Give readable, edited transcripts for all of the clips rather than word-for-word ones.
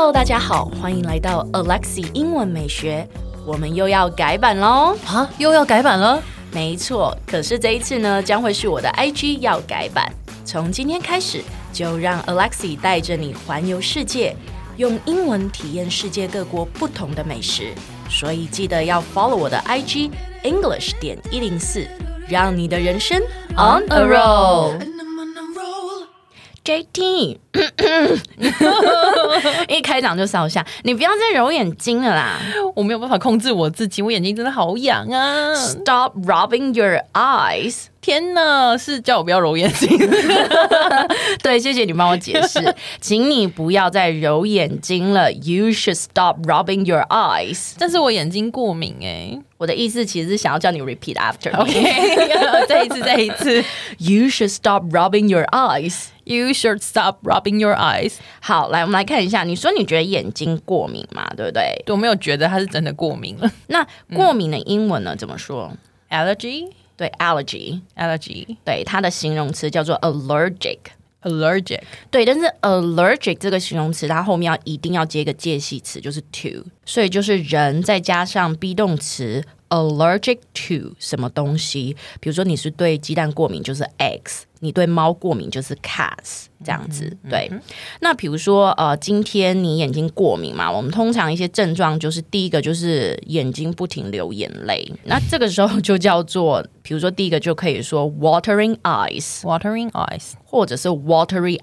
Hello， 大家好，歡迎來到 Alexi 英文美學。我們又要改版嘍！ 啊，又要改版了？ 沒錯，可是這一次呢，將會是我的 IG 要改版。從今天開始，就讓 Alexi 帶着你環遊世界，用英文體驗世界各國不同的美食。所以記得要 follow 我的 IG English.104，讓你的人生 on a roll。JT， 一開場就燒下，你不要再揉眼睛了啦！ 我沒有辦法控制我自己，我眼睛真的好癢啊 ！Stop rubbing your eyes！ 天哪，是叫我不要揉眼睛？ 對，謝謝你幫我解釋，請你不要再揉眼睛了。You should stop rubbing your eyes。 但是我眼睛過敏欸。 我的意思其實是想要叫你 repeat after me。OK， 再一次。 You should stop rubbing your eyes。You should stop rubbing your eyes。 好，來，我们來看一下。你說你覺得眼睛過敏嘛？對不對？ 我沒有覺得它是真的過敏了。 那過敏的英文呢？怎麼說 ？Allergy。 對 ，allergy。對，它的形容詞叫做 allergic。對，但是 allergic 這個形容詞，它後面一定要接一個介系詞，就是 to， 所以就是人再加上 be 動詞 allergic to 什麼東西。比如說你是對雞蛋過敏，就是 eggs。你對貓過敏就是 cats 這樣子，對。那比如說今天你眼睛過敏嘛，我們通常一些症狀就是第一個就是眼睛不停流眼淚，那這個時候就叫做，比如說第一個就可以說 watering eyes， 或者是 watery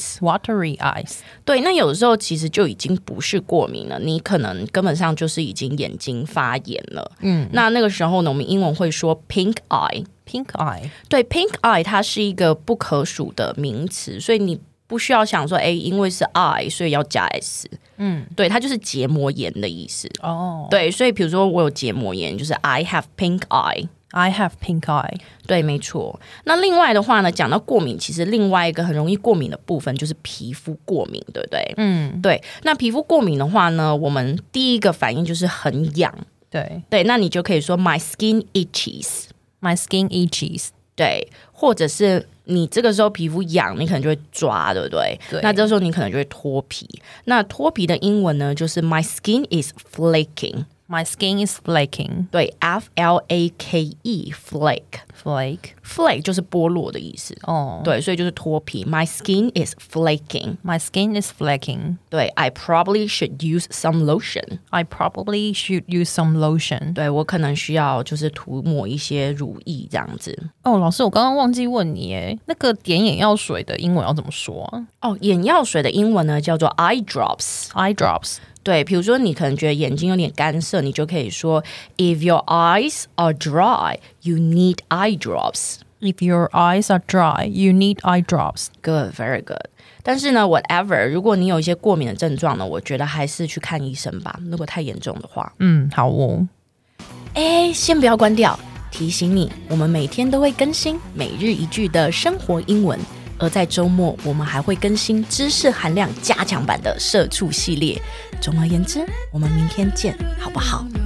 eyes。對，那有的時候其實就已經不是過敏了，你可能根本上就是已經眼睛發炎了。那個時候呢，我們英文會說 pink eye。Pink eye， 對 ，pink eye 它是一個不可數的名詞，所以你不需要想說，因為是 eye， 所以要加 s。對，它就是結膜炎的意思。對，所以比如說我有結膜炎，就是 I have pink eye。I have pink eye。對，沒錯。那另外的話呢，講到過敏，其實另外一個很容易過敏的部分就是皮膚過敏，對不對？對。那皮膚過敏的話呢，我們第一個反應就是很癢。對，那你就可以說 My skin itches。My skin itches。對，或者是你這個時候皮膚癢，你可能就會抓，對不對？對。那這時候你可能就會脫皮。那脫皮的英文呢，就是 My skin is flaking。My skin is flaking。對 ，F-L-A-K-E flake。Flake 就是剝落的意思。對，所以就是脫皮。My skin is flaking。My skin is flaking。對 ，I probably should use some lotion。I probably should use some lotion。對，我可能需要就是塗抹一些乳液這樣子。 老師，我剛剛忘記問你耶，那個點眼藥水的英文要怎麼說啊？ 眼藥水的英文呢叫做 eye drops。對，比如說你可能覺得眼睛有點乾澀，你就可以說 If your eyes are dry, you need eye drops. If your eyes are dry, you need eye drops. Good, very good. 但是呢 whatever, 如果你有一些過敏的症狀呢，我覺得還是去看醫生吧，如果太嚴重的話。 好哦。 先不要關掉，提醒你，我們每天都會更新每日一句的生活英文。而在週末，我們還會更新知識含量加強版的社畜系列。總而言之，我們明天見，好不好？